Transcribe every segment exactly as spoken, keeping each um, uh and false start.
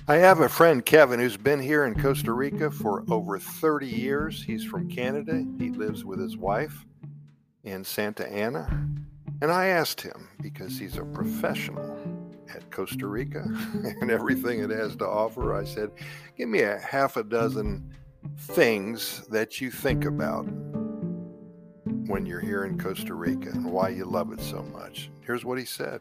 I have a friend, Kevin, who's been here in Costa Rica for over thirty years. He's from Canada. He lives with his wife in Santa Ana. And I asked him, because he's a professional at Costa Rica and everything it has to offer, I said, give me a half a dozen things that you think about when you're here in Costa Rica and why you love it so much. Here's what he said.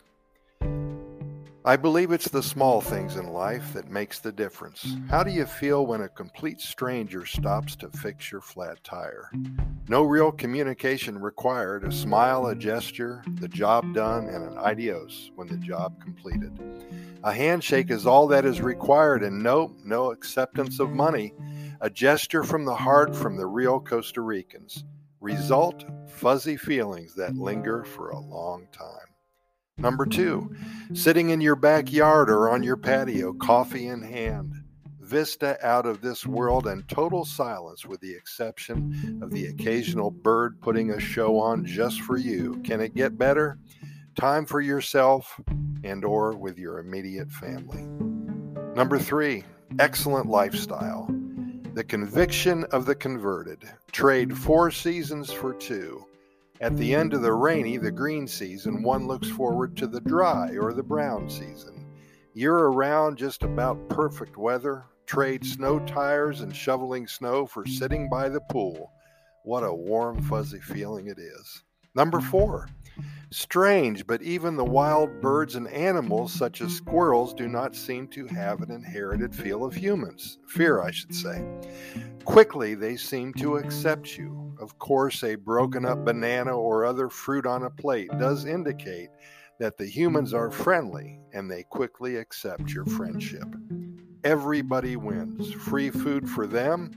I believe it's the small things in life that makes the difference. How do you feel when a complete stranger stops to fix your flat tire? No real communication required, a smile, a gesture, the job done, and an adios when the job completed. A handshake is all that is required, and no, no acceptance of money. A gesture from the heart from the real Costa Ricans. Result, fuzzy feelings that linger for a long time. Number two, sitting in your backyard or on your patio, coffee in hand. Vista out of this world and total silence with the exception of the occasional bird putting a show on just for you. Can it get better? Time for yourself and or with your immediate family. Number three, excellent lifestyle. The conviction of the converted. Trade four seasons for two. At the end of the rainy, the green season, one looks forward to the dry or the brown season. Year-around, just about perfect weather. Trade snow tires and shoveling snow for sitting by the pool. What a warm, fuzzy feeling it is. Number four, strange, but even the wild birds and animals such as squirrels do not seem to have an inherited feel of humans. Fear, I should say. Quickly, they seem to accept you. Of course, a broken up banana or other fruit on a plate does indicate that the humans are friendly and they quickly accept your friendship. Everybody wins. Free food for them,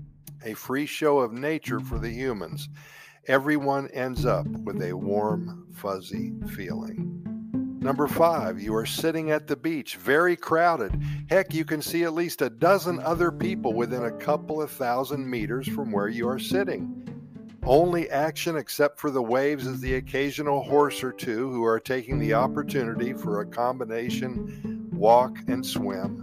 a free show of nature for the humans. Everyone ends up with a warm, fuzzy feeling. Number five, you are sitting at the beach, very crowded. Heck, you can see at least a dozen other people within a couple of thousand meters from where you are sitting. Only action except for the waves is the occasional horse or two who are taking the opportunity for a combination walk and swim.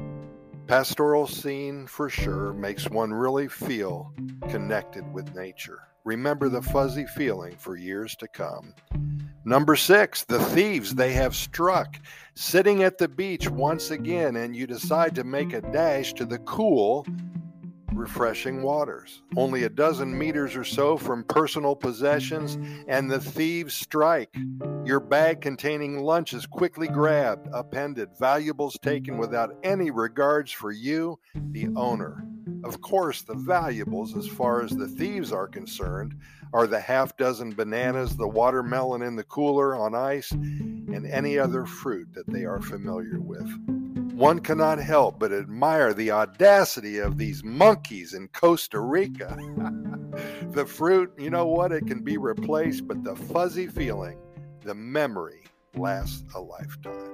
Pastoral scene for sure makes one really feel connected with nature. Remember the fuzzy feeling for years to come. Number six, the thieves, they have struck. Sitting at the beach once again, and you decide to make a dash to the cool, refreshing waters. Only a dozen meters or so from personal possessions, and the thieves strike. Your bag containing lunch is quickly grabbed, upended, valuables taken without any regards for you, the owner. Of course, the valuables, as far as the thieves are concerned, are the half dozen bananas, the watermelon in the cooler on ice, and any other fruit that they are familiar with. One cannot help but admire the audacity of these monkeys in Costa Rica. The fruit, you know what, it can be replaced, but the fuzzy feeling, the memory, lasts a lifetime.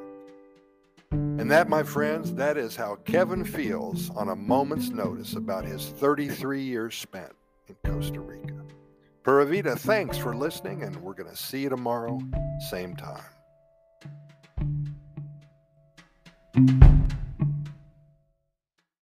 And that, my friends, that is how Kevin feels on a moment's notice about his thirty-three years spent in Costa Rica. Pura Vida, thanks for listening, and we're going to see you tomorrow, same time.